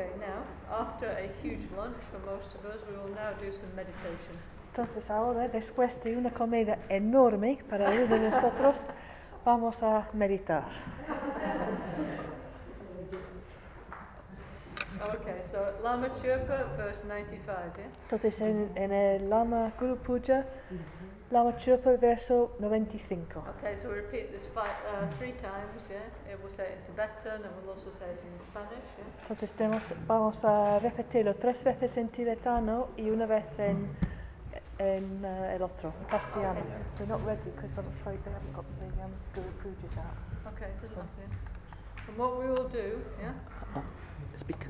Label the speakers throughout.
Speaker 1: Okay, now, after a huge lunch for most of us, we will now do some meditation.
Speaker 2: Entonces ahora, después de una comida enorme para uno de nosotros, vamos a meditar.
Speaker 1: Okay, so Lama Chöpa, verse 95, yeah?
Speaker 2: Entonces en el Lama Guru Puja, Lama Chöpa, verso 95.
Speaker 1: Okay, so we repeat this 3 times, yeah? We'll say it in Tibetan and we'll also say it in Spanish, yeah?
Speaker 2: Entonces vamos a repetirlo 3 veces en tibetano y una vez en el otro, en castellano. We're not ready because I'm afraid they haven't got the Guru Pujas out.
Speaker 1: Okay, doesn't matter. And what we will do, yeah?
Speaker 3: Speak.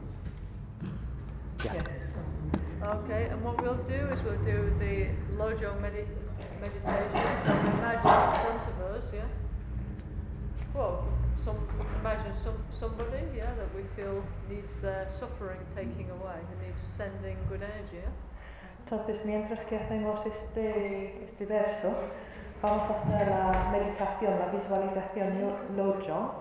Speaker 1: Yeah. Okay, and what we'll do is we'll do the Lojong meditation. So we imagine in front of us, yeah? Well, we can imagine somebody, yeah, that we feel needs their suffering taking away and needs sending good energy, yeah?
Speaker 2: Entonces, mientras que hacemos este verso, vamos a hacer la meditación, la visualización Lojong,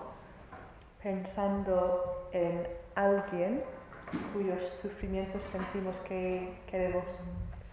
Speaker 2: pensando en alguien cuyos sufrimientos sentimos que queremos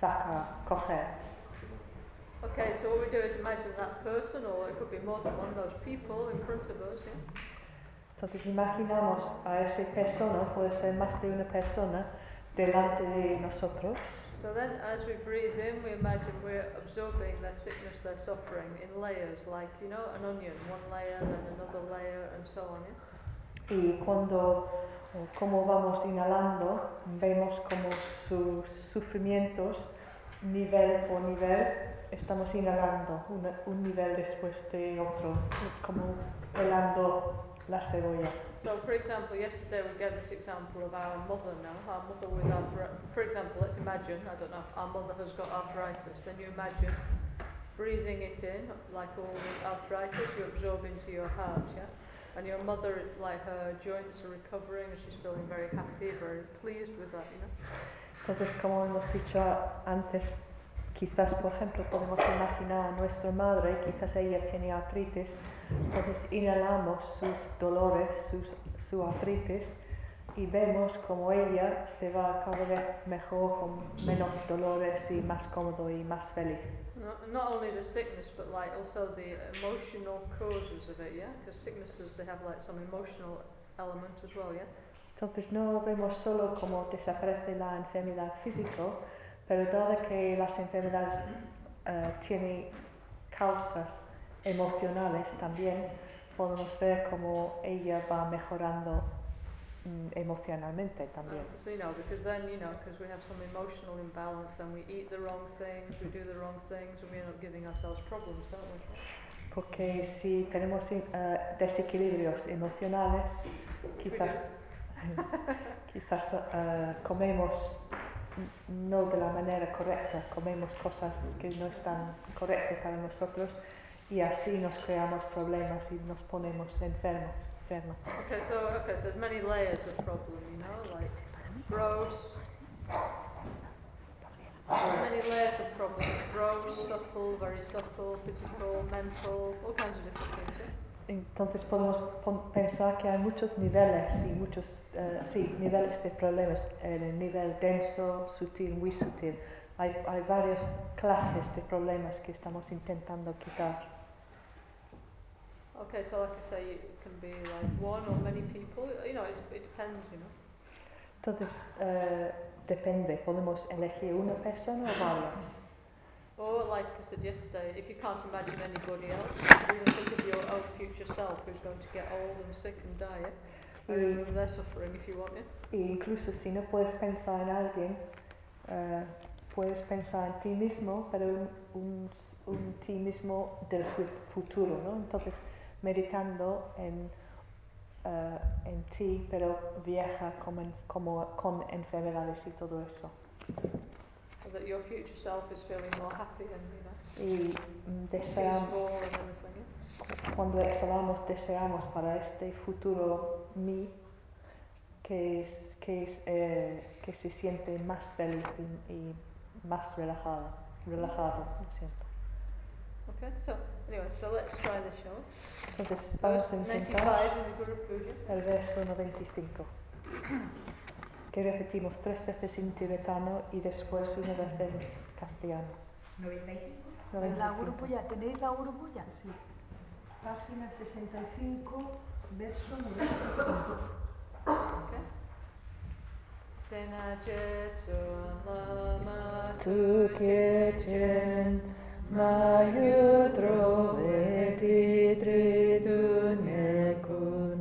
Speaker 2: coger.
Speaker 1: Okay, so what we do is imagine that person, or it could be more than one of those people in front of us, yeah?
Speaker 2: Entonces imaginamos a esa persona, puede ser más de una persona, delante de nosotros.
Speaker 1: So then as we breathe in, we imagine we're absorbing their sickness, their suffering in layers, like, you know, an onion, one layer, then another layer, and so on, yeah?
Speaker 2: Y como vamos inhalando, vemos como sus sufrimientos, nivel por nivel, estamos inhalando un nivel después de otro, como pelando la cebolla.
Speaker 1: So, for example, yesterday we gave this example of our mother now, our mother with arthritis. For example, let's imagine, I don't know, our mother has got arthritis. Then you imagine breathing it in, like all the arthritis, you absorb into your heart, yeah? And your mother, like her joints are recovering and she's feeling very happy, very pleased with that, you know?
Speaker 2: Entonces, como hemos dicho antes, quizás, por ejemplo, podemos imaginar a nuestra madre, quizás ella tiene artritis, entonces inhalamos sus dolores, su artritis, y vemos como ella se va cada vez mejor, con menos dolores y más cómodo y más feliz.
Speaker 1: Not only the sickness, but like also the emotional causes of it, yeah? Because sicknesses, they have like some emotional element as well, yeah?
Speaker 2: Entonces no vemos solo cómo desaparece la enfermedad física, pero dado que las enfermedades tienen causas emocionales también, podemos ver cómo ella va mejorando emocionalmente también.
Speaker 1: So, you know, because then, you know, because we have some emotional imbalance, then we eat the wrong things, we do the wrong things, and we end up giving ourselves problems, don't we?
Speaker 2: Porque si tenemos desequilibrios emocionales, quizás comemos no de la manera correcta, comemos cosas que no están correctas para nosotros y así nos creamos problemas y nos ponemos enfermos.
Speaker 1: Okay, so there's many layers of problem, you know, like gross, many layers of problems, gross, subtle, very subtle, physical, mental, all kinds of different things, yeah?
Speaker 2: Entonces podemos pensar que hay muchos niveles y muchos niveles de problemas, el nivel denso, sutil, muy sutil. Hay varias clases de problemas que estamos intentando quitar.
Speaker 1: Okay, so like I say, it can be like one or many people, you know, it depends, you know.
Speaker 2: Entonces depende, podemos elegir una persona o varias.
Speaker 1: Or like I said yesterday, if you can't imagine anybody else, you think of your own future self who's going to get old and sick and die, yeah? And remove their suffering if you want, yeah?
Speaker 2: E incluso si no puedes pensar en alguien, puedes pensar en ti mismo, pero un ti mismo del futuro, ¿no? Entonces, meditando en ti, pero vieja como con enfermedades y todo eso.
Speaker 1: So that your future self is feeling more happy and, you know,
Speaker 2: y
Speaker 1: peaceful and everything, yeah?
Speaker 2: Cuando exhalamos, deseamos para este futuro mí que se siente más feliz y más relajado, lo siento.
Speaker 1: Okay, so anyway, so let's try this, shall we?
Speaker 2: Entonces vamos a intentar
Speaker 1: 95 in the Guru Puja.
Speaker 2: el verso 95. que repetimos 3 veces en tibetano y después una vez en castellano.
Speaker 3: 95.
Speaker 2: 95.
Speaker 4: La grupulla, ¿tenéis la grupulla?
Speaker 3: Sí. Página 65, verso 95.
Speaker 1: Okay. Tena Jetsun Lama
Speaker 2: Tukyechen Mayudro Vedi Tridunekun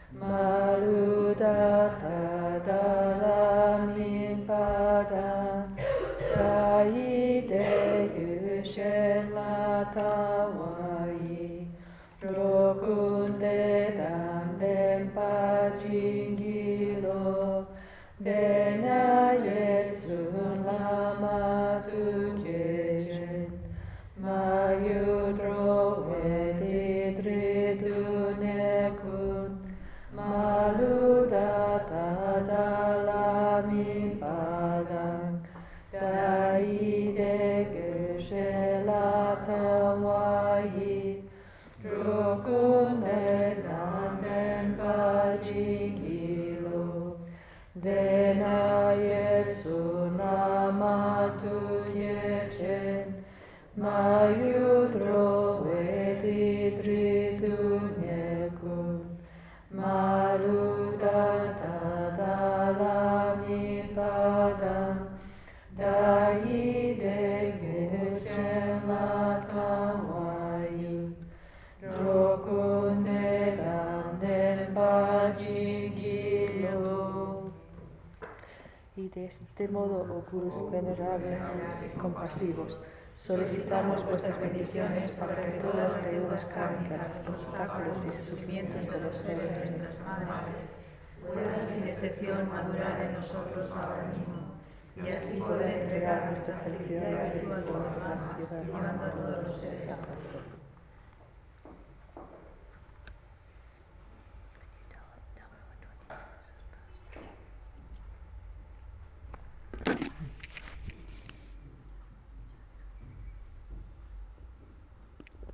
Speaker 2: Maludata Dalami Padan Taide Yushen Latawai Drokunde Danden Pajingilo Dena Yetsun Lama Tukyechen Mayudro Vedi Tridunekun Maludata Dalami Padang Daide Geshelatawai Drokunde Nanden Pajingilo Dena Yetsun Lama Tukyechen Mayudro Vedi Tridunekun Maludata Dalami Padang Daide Geshen Latawai Drokunde Danden Pajingilo. Y de este modo, oh Gurus venerables y compasivos, solicitamos vuestras bendiciones para que todas las deudas kármicas, obstáculos y sufrimientos de los seres de nuestras madres puedan sin excepción madurar en nosotros ahora mismo y así poder entregar nuestra felicidad y virtud a los demás, llevando a todos los seres a paz.